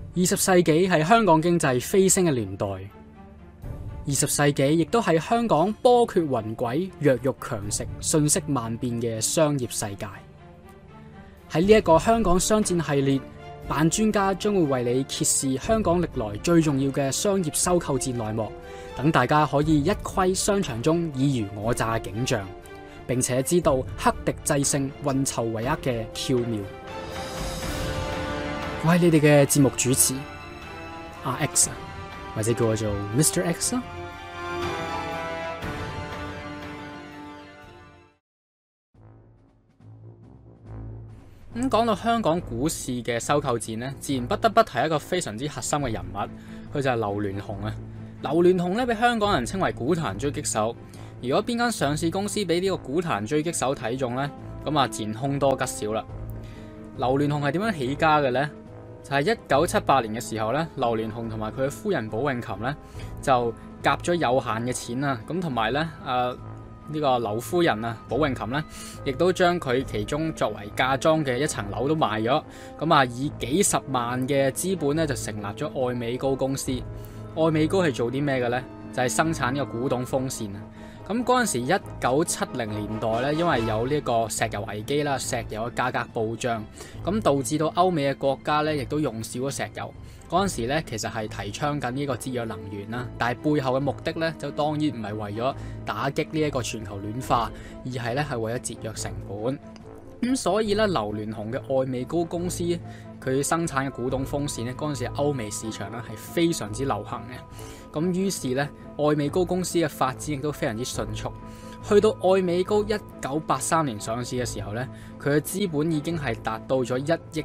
20世紀係香港經濟飛升嘅年代，20世紀亦都係香港波譎雲詭、弱肉強食、瞬息萬變嘅商業世界。喺呢一個香港商戰系列，扮專家將會為你揭示香港歷來最重要嘅商業收購戰內幕，等大家可以一窺商場中爾虞我詐嘅景象，並且知道克敵制勝、運籌帷幄嘅竅妙。我係你哋嘅節目主持阿 X， 或者叫我做 Mr. X 啦。咁講到香港股市嘅收購戰呢，自然不得不提一個非常之核心嘅人物，佢就係劉鑾雄啊。劉鑾雄咧，被香港人稱為股壇狙擊手。如果邊間上市公司俾呢個股壇狙擊手睇中呢，咁啊自然凶多吉少啦。劉鑾雄係點樣起家嘅呢？就係1978年嘅時候咧，劉鑾雄同埋佢嘅夫人寶詠琴咧就夾咗有限嘅錢啊，咁同埋咧呢個劉夫人啊，寶詠琴咧亦都將佢其中作為嫁妝嘅一層樓都賣咗，咁啊以幾十萬嘅資本咧就成立咗愛美高公司。愛美高係做啲咩嘅咧？就係生產呢個古董風扇啊。咁嗰陣時1970年代咧，因為有呢個石油危機啦，石油嘅價格暴漲，咁導致到歐美嘅國家咧，亦都用少咗石油。嗰陣時咧，其實係提倡緊呢個節約能源啦，但係背後嘅目的咧，就當然唔係為咗打擊呢一個全球暖化，而係咧係為咗節約成本。咁所以咧，劉鑾雄嘅愛美高公司佢生產嘅古董風扇咧，嗰陣時歐美市場咧係非常之流行嘅。咁於是咧，愛美高公司嘅發展亦都非常之迅速。去到愛美高1983年上市嘅時候咧，佢嘅資本已經係達到咗1億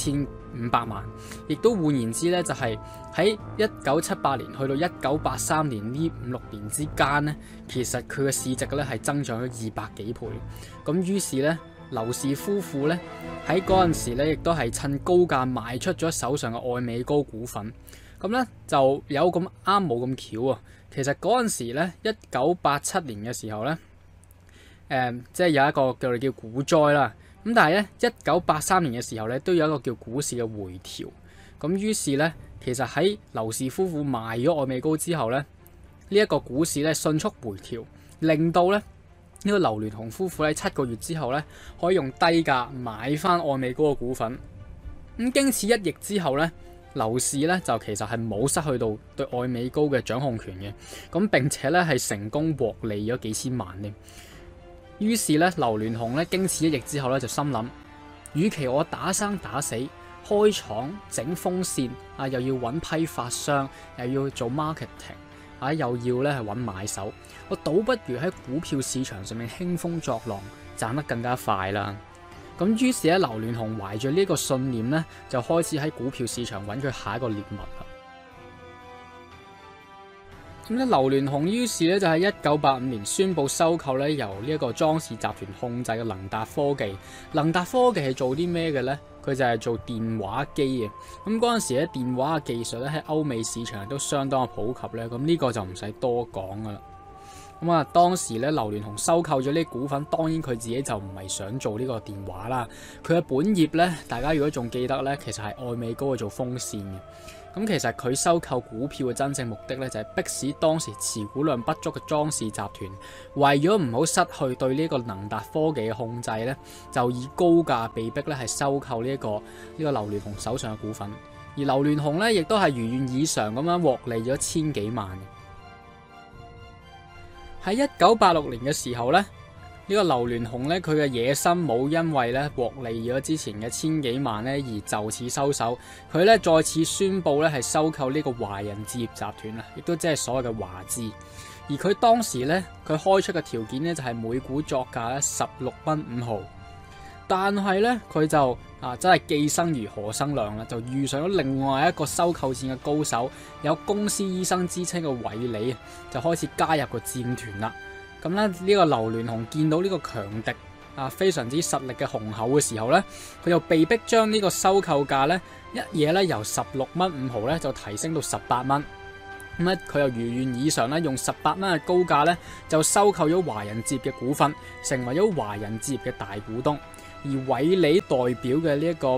7500萬，亦都換言之咧，就係喺1978年去到1983年呢5-6年之間咧，其實佢嘅市值咧係增長咗200幾倍。咁於是咧，劉氏夫婦咧喺嗰陣時咧，亦都係趁高價賣出咗手上嘅愛美高股份。咁咧就有咁啱冇咁巧啊！其實嗰陣時咧，1987年嘅時候咧，即係有一個叫股災啦。咁但係咧，1983年嘅時候咧，都有一個叫股市嘅回調。咁於是咧，其實喺劉氏夫婦賣咗愛美高之後咧，呢一個股市咧迅速回調，令到咧呢個劉鑾雄夫婦喺7個月之後咧，可以用低價買翻愛美高嘅股份。咁經此一役之後咧，劉氏咧就其實係冇失去到對愛美高嘅掌控權嘅，咁並且咧係成功獲利咗幾千萬添。於是咧，劉鑾雄咧經此一役之後咧就心諗，與其我打生打死開廠整風扇啊，又要揾批發商，又要做 marketing 啊，又要咧係揾買手，我倒不如喺股票市場上面興風作浪，賺得更加快啦。咁於是咧，劉鑾雄懷住呢個信念咧，就開始喺股票市場揾佢下一個獵物啦。咁咧，劉鑾雄於是咧就喺1985年宣布收購咧由呢一個莊氏集團控制嘅能達科技。能達科技係做啲咩嘅咧？佢就係做電話機嘅。咁嗰陣時咧，電話嘅技術咧喺歐美市場都相當嘅普及咧。咁呢個就唔使多講噶啦。咁啊，當時咧，劉鑾雄收購咗呢啲股份，當然佢自己就唔係想做呢個電話啦。佢嘅本業咧，大家如果仲記得咧，其實係愛美高去做風扇嘅。咁其實佢收購股票嘅真正目的咧，就係迫使當時持股量不足嘅莊氏集團，為咗唔好失去對呢個能達科技嘅控制咧，就以高價被逼咧係收購呢個劉鑾雄手上嘅股份。而劉鑾雄咧，亦都係如願以償咁樣獲利咗千幾萬。喺1986年嘅時候咧，呢個劉鑾雄咧，佢嘅野心冇因為咧獲利咗之前嘅千幾萬咧而就此收手，佢咧再次宣布咧係收購呢個華人置業集團啊，亦都即係所謂嘅華置。而佢當時咧，佢開出嘅條件咧就係每股作價咧16蚊5毫，但係咧佢就真係既生瑜何生亮啦，就遇上咗另外一個收購戰嘅高手，有公司醫生之稱嘅韋理，就開始加入個戰團啦。咁咧呢個劉鑾雄見到呢個強敵非常之實力嘅雄厚嘅時候咧，佢就被逼將呢個收購價咧一嘢咧由16蚊5毫咧就提升到18蚊。咁咧佢又如願以償咧用18蚊嘅高價咧就收購咗華人置業嘅股份，成為咗華人置業嘅大股東。而韋理代表嘅呢一個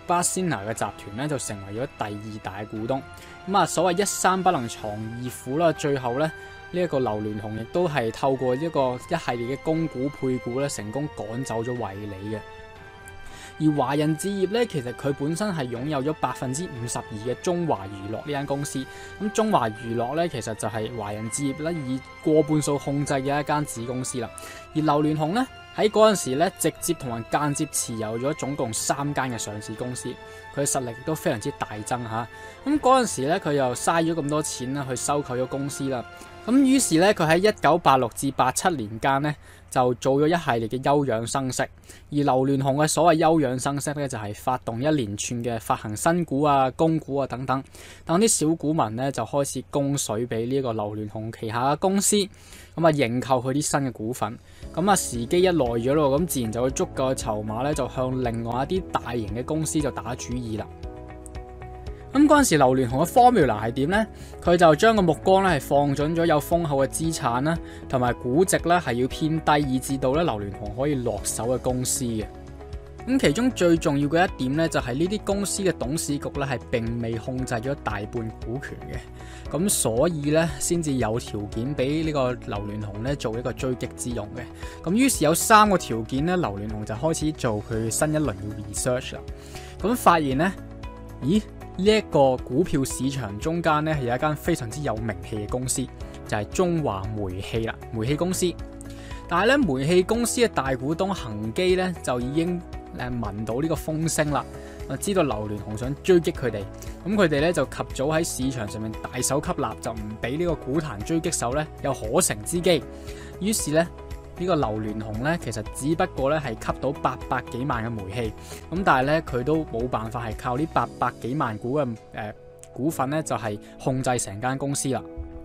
巴仙拿嘅集團咧就成為咗第二大股東。咁啊，所謂一山不能藏二虎啦，最後咧呢一個劉鑾雄亦都係透過一系列嘅供股配股咧，成功趕走咗惠理嘅。而華人置業咧，其實佢本身係擁有咗52%嘅中華娛樂呢間公司。咁中華娛樂咧，其實就係華人置業咧以過半數控制嘅一間子公司啦。而劉鑾雄咧喺嗰陣時咧，直接同埋間接持有咗總共3間嘅上市公司，佢嘅實力亦都非常之大增嚇。咁嗰陣時咧，佢又嘥咗咁多錢啦，去收購咗公司啦。咁於是咧，佢喺1986至87年間咧，就做咗一系列嘅休養生息。而劉鑾雄嘅所謂休養生息咧，就係發動一連串嘅發行新股啊、供股啊等等，等啲小股民咧就開始供水俾呢個劉鑾雄旗下嘅公司，咁啊認購佢啲新嘅股份。咁啊時機一耐咗咯，咁自然就有足夠嘅籌碼咧，就向另外一啲大型嘅公司就打主意啦。咁嗰陣時，劉鑾雄嘅 formula 係點呢？佢就將個目光咧係放準咗有豐厚嘅資產啦，同埋估值咧係要偏低，以至到咧劉鑾雄可以落手嘅公司嘅。咁其中最重要嘅一點咧，就係呢啲公司嘅董事局咧係並未控制咗大半股權嘅，咁所以咧先至有條件俾呢個劉鑾雄咧做一個追擊之用嘅。咁於是有3個條件咧，劉鑾雄就開始做佢新一輪嘅 research 啦。咁發現咧，咦？呢一個股票市場中間咧係有一間非常之有名氣嘅公司，就係中華煤氣啦，煤氣公司。但係咧，煤氣公司嘅大股東恒基咧就已經聞到呢個風聲啦，知道劉鑾雄想追擊佢哋，咁佢哋咧就及早喺市場上面大手吸納，就唔俾呢個股壇追擊手咧有可乘之機。於是咧，呢個劉鑾雄咧，其實只不過咧係吸到800幾萬嘅煤氣，咁但係咧佢都冇辦法係靠呢800幾萬股嘅股份咧，就係控制成間公司啦。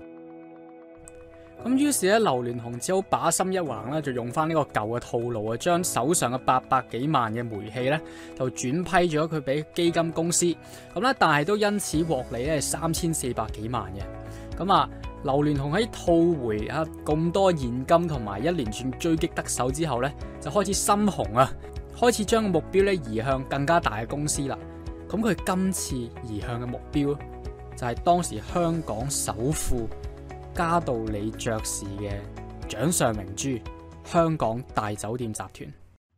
咁於是咧，劉鑾雄只好把心一橫咧，就用翻呢個舊嘅套路啊，將手上嘅800幾萬嘅煤氣咧，就轉批咗佢俾基金公司，咁咧，但係都因此獲利咧3400幾萬嘅。咁啊，劉鑾雄喺套回咁多現金同埋一連串追擊得手之後咧，就開始心紅啊，開始將個目標咧移向更加大嘅公司啦。咁佢今次移向嘅目標就係當時香港首富嘉道理爵士嘅掌上明珠香港大酒店集團。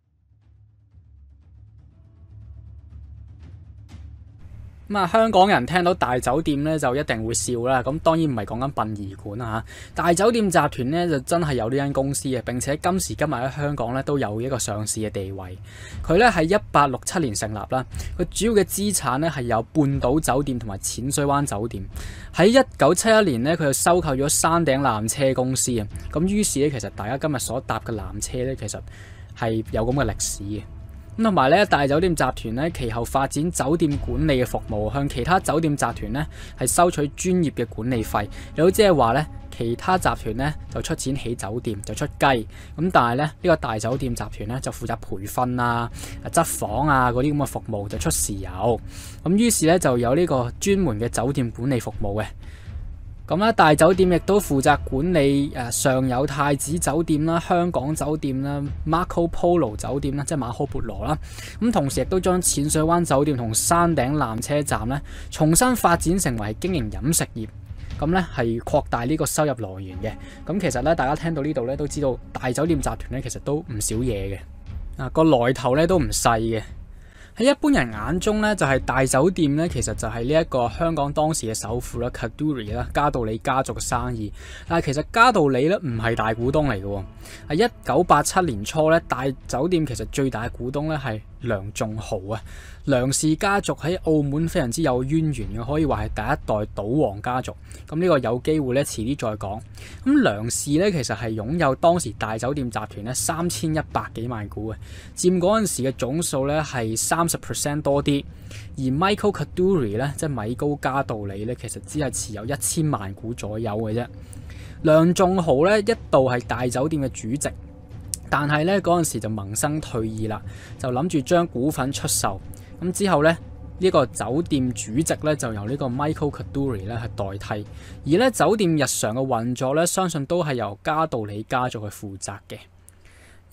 咁香港人聽到大酒店咧就一定會笑啦。咁當然唔係講緊殯儀館啦嚇，大酒店集團咧就真係有呢間公司嘅，並且今時今日喺香港咧都有一個上市嘅地位。佢咧係1867年成立啦，佢主要嘅資產咧係有半島酒店同埋淺水灣酒店。喺1971年咧，佢就收購咗山頂纜車公司啊。咁於是咧，其實大家今日所搭嘅纜車咧，其實係有咁嘅歷史嘅。咁同埋咧，大酒店集團咧，其後發展酒店管理嘅服務，向其他酒店集團咧係收取專業嘅管理費。又即係話咧，其他集團咧就出錢起酒店，就出雞。咁但係咧，呢個大酒店集團咧就負責培訓啊、執房啊嗰啲咁嘅服務，就出豉油。咁於是咧就有呢個專門嘅酒店管理服務嘅。咁咧，大酒店亦都負責管理上有太子酒店啦、香港酒店啦、Marco Polo 酒店啦，即係馬可波羅啦。咁同時亦都將淺水灣酒店同山頂纜車站咧重新發展成為經營飲食業，咁咧係擴大呢個收入來源嘅。咁其實咧，大家聽到呢度咧都知道大酒店集團咧其實都唔少嘢嘅，個來頭咧都唔細嘅。喺一般人眼中咧，就係大酒店咧，其實就係呢一個香港當時嘅首富啦，Kadoorie啦，嘉道理家族嘅生意。但係其實嘉道理咧唔係大股東嚟嘅。喺1987年初咧，大酒店其實最大嘅股東咧係梁仲豪啊。梁氏家族喺澳門非常之有淵源嘅，可以話係第一代賭王家族。咁呢個有機會咧，遲啲再講。咁梁氏咧其實係擁有當時大酒店集團咧3100幾萬股嘅，佔嗰陣時嘅總數咧係30% 多啲。而 Michael Kadoorie 咧，即係米高嘉道理咧，其實只係持有1000萬股左右嘅啫。梁仲豪咧一度係大酒店嘅主席，但係咧嗰陣時就萌生退意啦，就諗住將股份出售。咁之後咧，呢個酒店主席咧就由呢個 Michael Kadoorie 咧係代替，而咧酒店日常嘅運作咧，相信都係由嘉道理家族去負責嘅。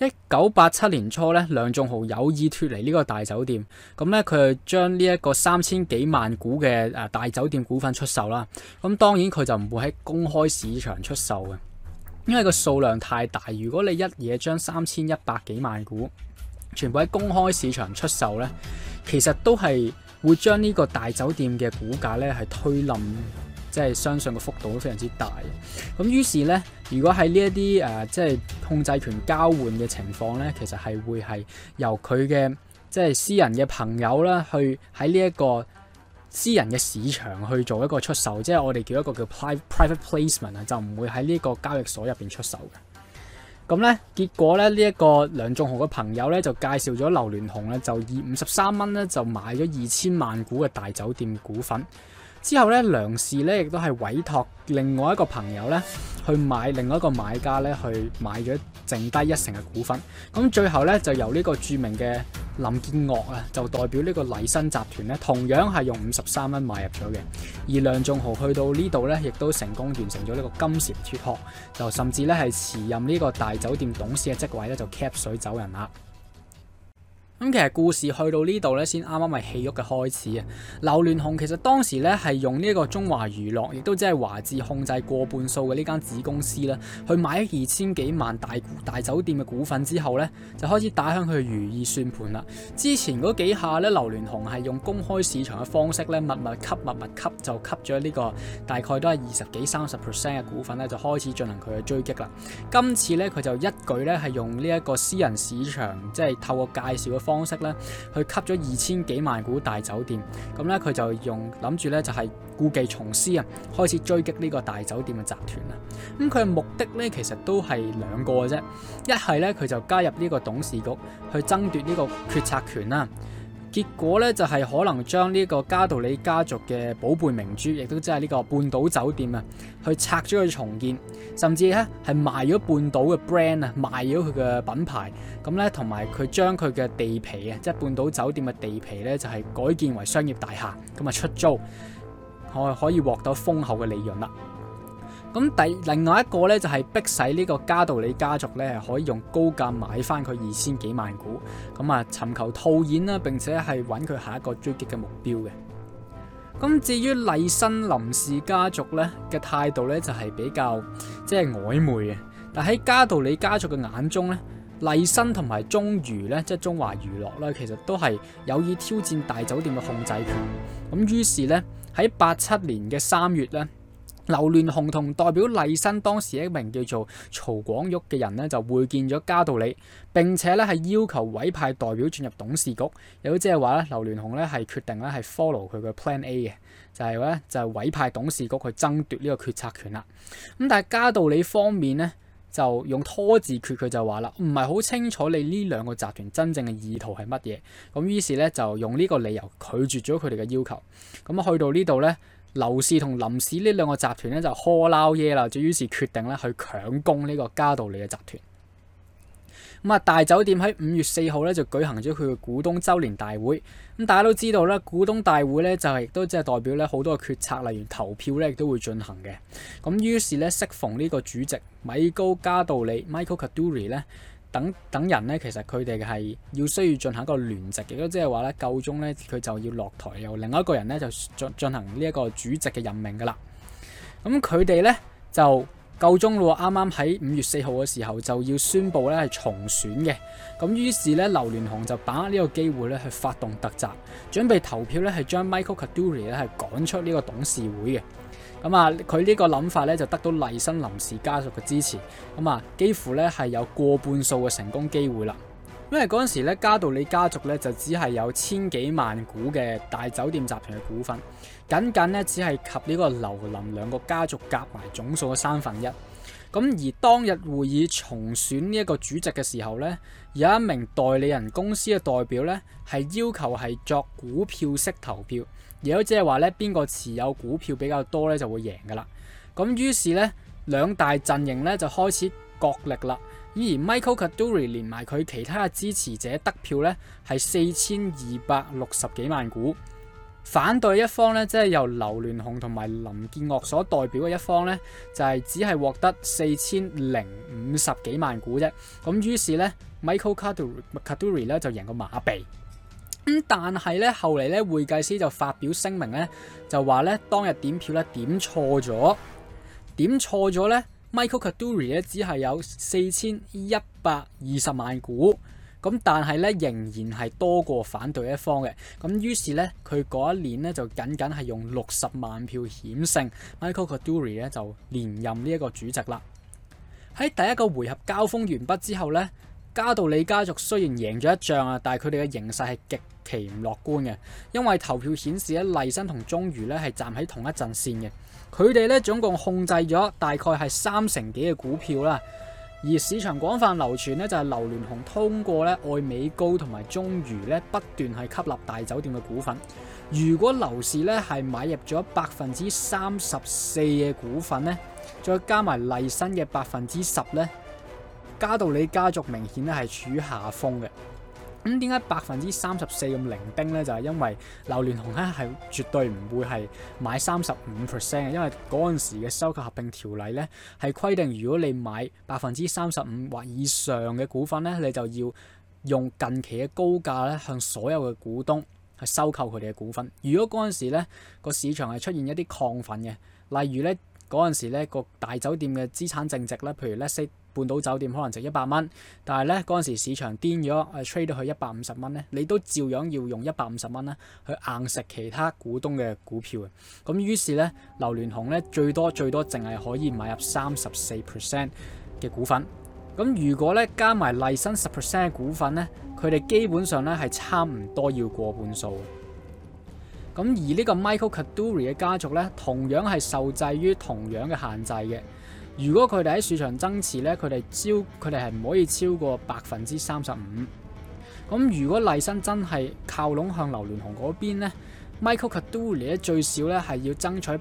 1987年初咧，梁頌豪有意脫離呢個大酒店，咁咧佢就將呢一個3000幾萬股嘅大酒店股份出售啦。咁當然佢就唔會喺公開市場出售嘅，因為個數量太大。如果你一嘢將3100幾萬股全部喺公開市場出售咧，其實都係會將呢個大酒店嘅股價咧係推冧。即係相信個幅度都非常之大，咁於是咧，如果喺呢一啲即係控制權交換嘅情況咧，其實係會係由佢嘅即係私人嘅朋友啦，去喺呢一個私人嘅市場去做一個出售，即係我哋叫一個叫 private placement 啊，就唔會喺呢個交易所入邊出售嘅。咁咧，結果咧呢一個梁頌豪嘅朋友咧就介紹咗劉鑾雄咧，就以53蚊咧就買咗2000萬股嘅大酒店股份。之後咧，梁氏咧亦都係委託另外一個朋友咧去買另外一個買家咧去買咗剩低1成嘅股份。咁最後咧就由呢個著名嘅林建岳啊，就代表呢個麗新集團咧，同樣係用53蚊買入咗嘅。而梁頌豪去到呢度咧，亦都成功完成咗呢個金蟬脫殼，就甚至咧係辭任呢個大酒店董事嘅職位咧，就 cap 水走人啦。咁其實故事去到呢度咧，先啱啱係戲肉嘅開始啊！劉鑾雄其實當時咧係用呢一個中華娛樂，亦都即係華智控制過半數嘅呢間子公司啦，去買咗2000幾萬大酒店嘅股份之後咧，就開始打響佢嘅如意算盤啦。之前嗰幾下咧，劉鑾雄係用公開市場嘅方式咧，密密吸，就吸咗呢個大概都係20幾30% 嘅股份咧，就開始進行佢嘅追擊啦。今次咧，佢就一舉咧係用呢一個私人市場，即係透過介紹嘅方式咧，去吸咗2000幾萬股大酒店，咁咧佢就諗住咧就係故技重施啊，開始追擊呢個大酒店嘅集團啦。咁佢嘅目的咧其實都係兩個嘅啫，一係咧佢就加入呢個董事局去爭奪呢個決策權啦。結果咧就係可能將呢個嘉道理家族嘅寶貝明珠，亦都即係呢個半島酒店啊，去拆咗去重建，甚至咧係賣咗半島嘅 brand 啊，賣咗佢嘅品牌。咁咧同埋佢將佢嘅地皮啊，即係半島酒店嘅地皮咧，就係改建為商業大廈，咁啊出租，可以獲得豐厚嘅利潤啦。咁另外一個咧就係逼使呢個嘉道理家族咧係可以用高價買翻佢2000幾萬股，咁啊尋求套現啦，並且係揾佢下一個追擊嘅目標嘅。咁至於麗新林氏家族咧嘅態度咧就係比較即係曖昧嘅，但喺嘉道理家族嘅眼中咧，麗新同埋中娛咧即係中華娛樂咧，其實都係有意挑戰大酒店嘅控制權。咁於是咧喺87年嘅3月咧，劉鑾雄同代表麗新當時一名叫做曹廣玉嘅人咧，就會見咗嘉道理，並且咧係要求委派代表進入董事局。亦都即係話咧，劉鑾雄咧係決定咧係 follow 佢嘅 Plan A 嘅，就係咧就委派董事局去爭奪呢個決策權啦。咁但係嘉道理方面咧就用拖字訣，佢就話啦，唔係好清楚你呢兩個集團真正嘅意圖係乜嘢。咁於是咧就用呢個理由拒絕咗佢哋嘅要求。咁啊去到呢度咧，劉氏同林氏呢兩個集團咧就呵撈耶啦，就於是決定咧去強攻呢個嘉道理嘅集團。咁啊，大酒店喺5月4號咧就舉行咗佢嘅股東周年大會。咁大家都知道咧，股東大會咧就係亦都即係代表咧好多嘅決策，例如投票咧亦都會進行嘅。咁於是咧，適逢呢個主席米高嘉道理 Michael Kadoorie 咧等人咧，其實佢哋係需要進行一個聯席，亦都即係話咧，夠鐘咧佢就要落台，由另外一個人咧就進行呢一個主席嘅任命噶啦。咁佢哋咧就夠鐘咯，啱啱喺5月4號嘅時候就要宣布咧係重選嘅。咁於是咧，劉鑾雄就把握呢個機會咧去發動突襲，準備投票咧係將 Michael Kadoorie 咧係趕出呢個董事會嘅。咁啊，佢呢個諗法咧就得到麗新林氏家族嘅支持，咁啊幾乎咧係有過半數嘅成功機會啦。因為嗰陣時咧，嘉道理家族咧就只係有1000幾萬股嘅大酒店集團嘅股份，僅咧只係及呢個劉林兩個家族夾埋總數嘅1/3。咁而當日會議重選呢一個主席嘅時候咧，有一名代理人公司嘅代表咧係要求係作股票式投票，亦都即係話咧邊個持有股票比較多咧就會贏噶啦。咁於是咧兩大陣營咧就開始角力啦。而 Michael Kadoorie 連埋佢其他嘅支持者得票咧係4260幾萬股， 反對一方咧，即係由劉鑾雄同埋林建岳所代表嘅一方咧，就係只係獲得4050幾萬股啫。咁於是咧 ，Michael Carduri 咧就贏過馬鼻。但係咧後嚟咧會計師就發表聲明咧，就話咧當日點票咧點錯咗咧 ，Michael Carduri 咧只係有4120萬股。咁但係咧仍然係多過反對一方嘅，咁於是咧佢嗰一年咧就僅係用60萬票險勝 Michael Carduri 咧就連任呢一個主席啦。喺第一個回合交鋒完畢之後咧，嘉道理家族雖然贏咗一仗啊，但係佢哋嘅形勢係極其唔樂觀嘅，因為投票顯示咧麗新同中餘咧係站喺同一陣線嘅，佢哋咧總共控制咗大概係30%幾嘅股票啦。而市場廣泛流傳咧，就係劉鑾雄通過咧愛美高同埋中餘咧不斷係吸納大酒店嘅股份。如果劉氏咧係買入咗34%嘅股份咧，再加埋麗新嘅10%咧，嘉道理家族明顯咧係處於下風嘅。咁點解34%咁零丁咧？就係因為劉鑾雄咧係絕對唔會係買35%嘅，因為嗰陣時嘅收購合併條例咧係規定，如果你買35%或以上嘅股份咧，你就要用近期嘅高價咧向所有嘅股東去收購佢哋嘅股份。如果嗰陣時咧個市場係出現一啲亢奮嘅，例如咧嗰陣時咧個大酒店嘅資產淨值咧，譬如咧半島酒店可能值100蚊，但係咧嗰陣時市場癲咗，trade 到去150蚊咧，你都照樣要用150蚊咧去硬食其他股東嘅股票嘅。咁於是咧，劉鑾雄咧最多淨係可以買入34% 嘅股份。咁如果咧加埋麗新10% 嘅股份咧，佢哋基本上咧係差唔多要過半數。咁而呢個 Michael Carduri 嘅家族咧，同樣係受制於同樣嘅限制嘅。如果佢哋喺市場增持咧，佢哋係唔可以超過35%。咁如果麗新真係靠攏向劉鑾雄嗰邊咧 ，Michael Carduri 咧最少咧係要爭取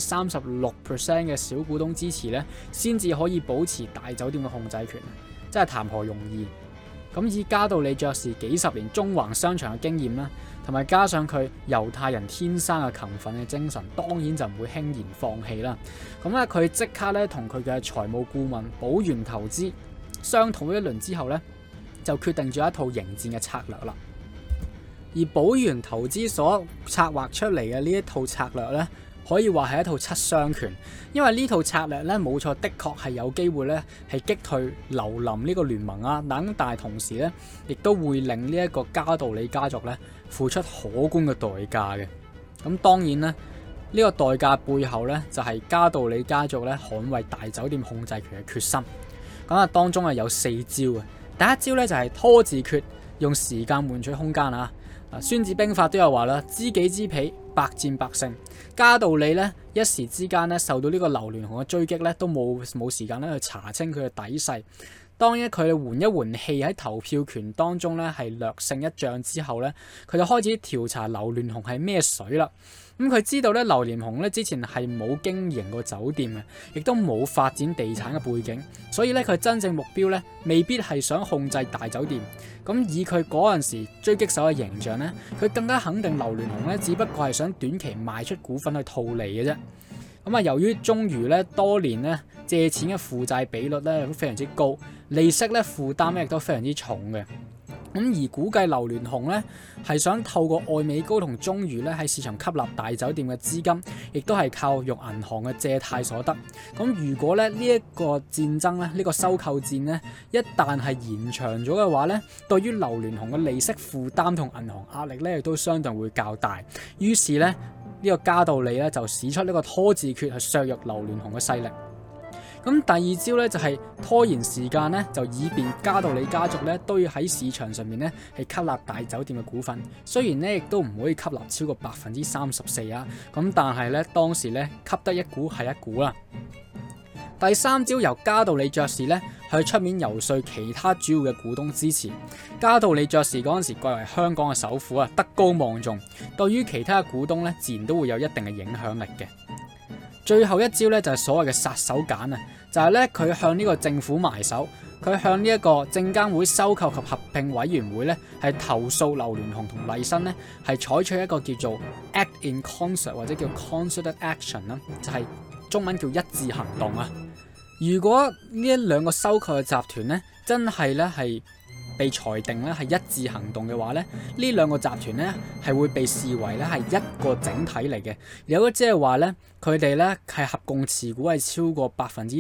36% 嘅小股東支持咧，先至可以保持大酒店嘅控制權，真係談何容易。咁以嘉道理爵士幾十年縱橫商場嘅經驗啦，同埋加上佢猶太人天生嘅勤奮嘅精神，當然就唔會輕言放棄啦。咁咧佢即刻咧同佢嘅財務顧問寶元投資商討一輪之後咧，就決定咗一套迎戰嘅策略啦。而寶元投資所策劃出嚟嘅呢一套策略咧，可以話係一套七傷拳，因為呢套策略咧冇錯，的確係有機會咧係擊退劉林呢個聯盟啊，但係同時咧亦都會令呢一個嘉道理家族咧付出可觀嘅代價嘅。咁當然咧，呢個代價背後咧就係嘉道理家族咧捍衛大酒店控制權嘅決心。咁啊，當中係有4招嘅。第一招咧就係拖字訣，用時間換取空間啊！孫子兵法都有話啦，知己知彼，百戰百勝。嘉道理咧一時之間咧受到呢個劉鑾雄嘅追擊咧，都冇時間咧去查清佢嘅底細。當佢哋緩一緩氣喺投票權當中咧係略勝一仗之後咧，佢就開始調查劉鑾雄係咩水啦。佢知道咧劉鑾雄咧之前係冇經營過酒店嘅，亦都冇發展地產嘅背景，所以咧佢真正目標咧未必係想控制大酒店。以佢嗰陣時狙擊手嘅形象咧，佢更加肯定劉鑾雄咧只不過係想短期賣出股份去套利嘅啫。由於中餘咧多年咧借錢嘅負債比率咧都非常之高，利息咧負擔咧亦都非常之重嘅。而估計劉鑾雄咧係想透過愛美高同中餘咧喺市場吸納大酒店嘅資金，亦都係靠用銀行嘅借貸所得。如果咧呢一個戰爭咧呢個收購戰咧一旦係延長咗嘅話咧，對於劉鑾雄嘅利息負擔同銀行壓力咧亦都相對會較大。於是咧呢個嘉道理咧就使出呢個拖字訣去削弱劉鑾雄嘅勢力。第二招咧就係拖延時間咧，就以便嘉道理家族咧都要喺市場上面咧係吸納大酒店嘅股份。雖然咧亦都唔可以吸納超過34%啊，但係咧當時咧吸得一股係一股啦。第三招由嘉道理爵士咧去出面游說其他主要嘅股東支持。嘉道理爵士嗰陣時貴為香港嘅首富啊，德高望重，對於其他嘅股東咧自然都會有一定嘅影響力嘅。最後一招咧就係所謂嘅殺手鐧啊，就係咧佢向呢個政府埋手， 佢向呢一個證監會收購及合併委員會咧係投訴劉鑾雄同麗新咧係採取一個叫做 act in concert 或者叫 concerted action 啦，就係中文叫一致行動啊。如果呢一兩個收購嘅集團咧真係咧係被裁定咧係一致行動嘅話咧，呢兩個集團咧係會被視為咧係一個整體嚟嘅。如果即係話咧，佢哋咧係合共持股係超過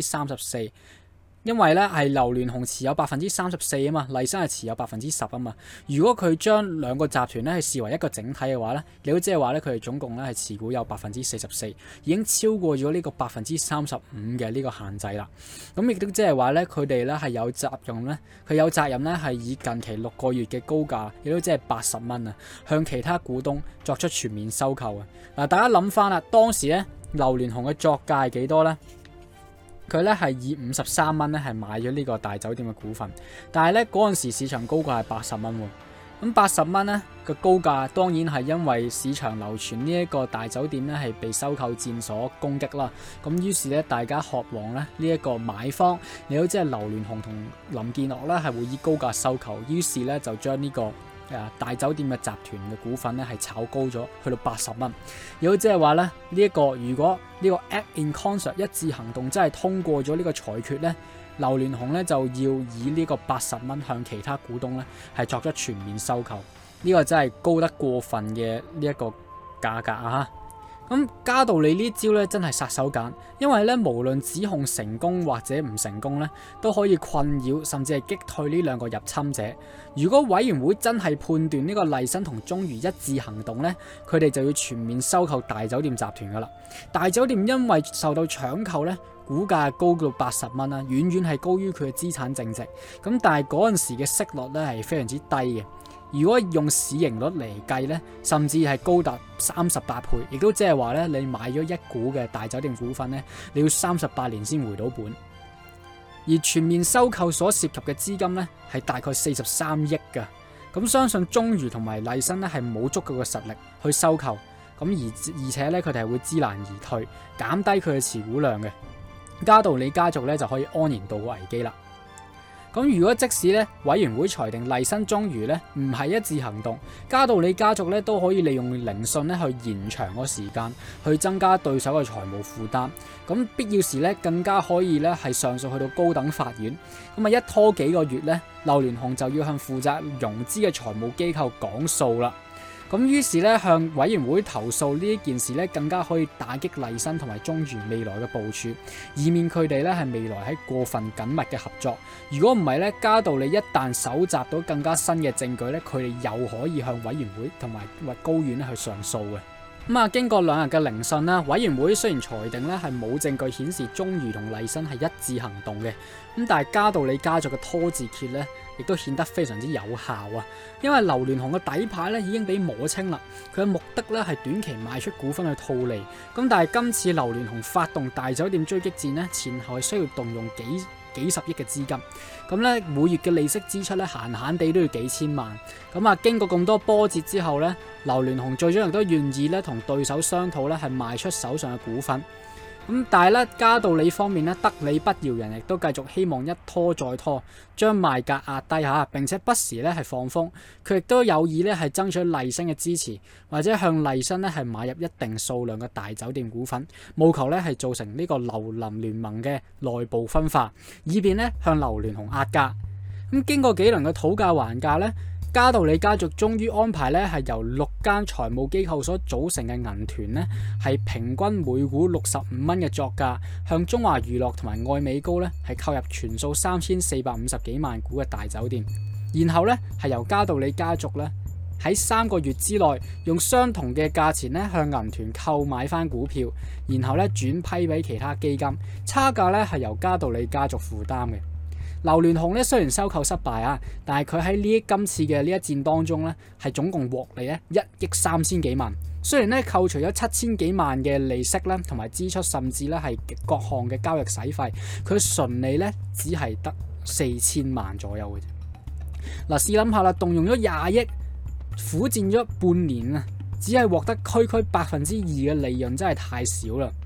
34%，因為咧係劉鑾雄持有34%啊嘛，麗新係持有10%啊嘛。如果佢將兩個集團咧係視為一個整體嘅話咧，你都即係話咧佢哋總共咧係持股有44%，已經超過咗呢個35%嘅呢個限制啦。咁亦都即係話咧佢哋咧係有責任咧，佢有責任咧係以近期6個月嘅高價，亦都即係80蚊啊，向其他股東作出全面收購啊。嗱，大家諗翻啦，當時咧劉鑾雄嘅作價係幾多咧？佢咧係以53蚊咧係買咗呢個大酒店嘅股份，但係咧嗰陣時市場高價係80蚊喎。咁80蚊咧嘅高價當然係因為市場流傳呢一個大酒店咧係被收購戰所攻擊啦。咁於是咧大家渴望咧呢一個買方，你好即係劉鑾雄同林建岳咧係會以高價收購，於是咧就將呢個大酒店嘅集團嘅股份咧係炒高咗，去到80蚊。亦都即係話咧呢一個如果呢個 act in concert 一致行動真係通過咗呢個裁決咧，劉鑾雄咧就要以呢個80蚊向其他股東咧係作出全面收購。呢個真係高得過分嘅呢一個價格啊！咁嘉道理呢招咧真係殺手鐧，因為咧無論指控成功或者唔成功咧，都可以困擾甚至係擊退呢兩個入侵者。如果委員會真係判斷呢個麗新同中渝一致行動咧，佢哋就要全面收購大酒店集團噶啦。大酒店因為受到搶購咧，股價高到80蚊啦，遠遠係高於佢嘅資產淨值。咁但係嗰陣時嘅息率咧係非常之低嘅。如果用市盈率嚟計咧，甚至係高達38倍，亦都即係話咧，你買咗一股嘅大酒店股份咧，你要38年先回到本。而全面收購所涉及嘅資金咧，係大概43億㗎。咁相信中渝同埋麗新咧係冇足夠嘅實力去收購，咁而且咧佢哋係會知難而退，減低佢嘅持股量嘅。嘉道理家族咧就可以安然度過危機啦。咁如果即使咧委員會裁定麗新中渝咧唔係一致行動，嘉道理家族咧都可以利用聆訊咧去延長個時間，去增加對手嘅財務負擔。咁必要時咧更加可以咧係上訴去到高等法院。咁啊一拖幾個月咧，劉鑾雄就要向負責融資嘅財務機構講數啦。咁於是咧向委員會投訴呢一件事咧，更加可以打擊麗新同埋中渝未來嘅部署，以免佢哋咧係未來喺過分緊密嘅合作。如果唔係咧，嘉道理一旦搜集到更加新嘅證據咧，佢哋又可以向委員會同埋高院咧去上訴嘅。咁啊，經過2日嘅聆訊啦，委員會雖然裁定咧係冇證據顯示中渝同麗新係一致行動嘅，咁但係嘉道理家族嘅拖字訣咧，亦都顯得非常之有效啊！因為劉鑾雄嘅底牌咧已經被摸清啦，佢嘅目的咧係短期賣出股份去套利。咁但係今次劉鑾雄發動大酒店追擊戰咧，前後係需要動用幾十億嘅資金，咁咧每月嘅利息支出咧閒閒地都要幾千萬。咁啊，經過咁多波折之後咧，劉鑾雄最終亦都願意咧同對手商討咧係賣出手上嘅股份。咁但係咧，嘉道理方面咧得理不饒人，亦都繼續希望一拖再拖，將賣價壓低下，並且不時咧係放風。佢亦都有意咧係爭取麗新嘅支持，或者向麗新咧係買入一定數量嘅大酒店股份，務求咧係造成呢個劉林聯盟嘅內部分化，以便咧向劉鑾雄壓價。咁經過幾輪嘅討價還價咧，嘉道理家族終於安排咧係由6間財務機構所組成嘅銀團咧，係平均每股65蚊嘅作價，向中華娛樂同埋愛美高咧係購入全數3450幾萬股嘅大酒店，然後咧係由嘉道理家族咧喺3個月之內用相同嘅價錢咧向銀團購買翻股票，然後咧轉批俾其他基金，差價咧係由嘉道理家族負擔嘅。劉鑾雄咧雖然收購失敗啊，但係佢喺今次嘅呢一戰當中咧，係總共獲利咧1億3千幾萬。雖然咧扣除咗7000幾萬嘅利息咧，同埋支出，甚至咧係各項嘅交易使費，佢純利咧只係得4000萬左右嘅啫。嗱，試諗下啦，動用咗20億，苦戰咗半年啊，只係獲得區區2%嘅利潤，真係太少啦。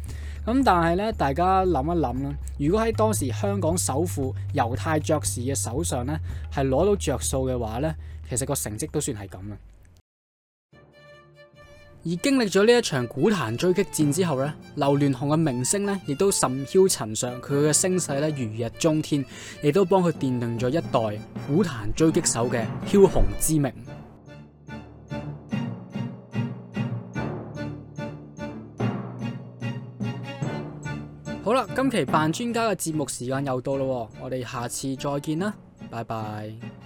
咁但係咧，大家諗一諗啦，如果喺當時香港首富猶太爵士嘅手上咧，係攞到着數嘅話咧，其實個成績都算係咁啊。而經歷咗呢一場股壇追擊戰之後咧，劉鑾雄嘅名聲咧亦都甚囂塵上，佢嘅聲勢咧如日中天，亦都幫佢奠定咗一代股壇追擊手嘅梟雄之名。好啦，今期扮專家嘅節目時間又到啦，我哋下次再見啦，拜拜。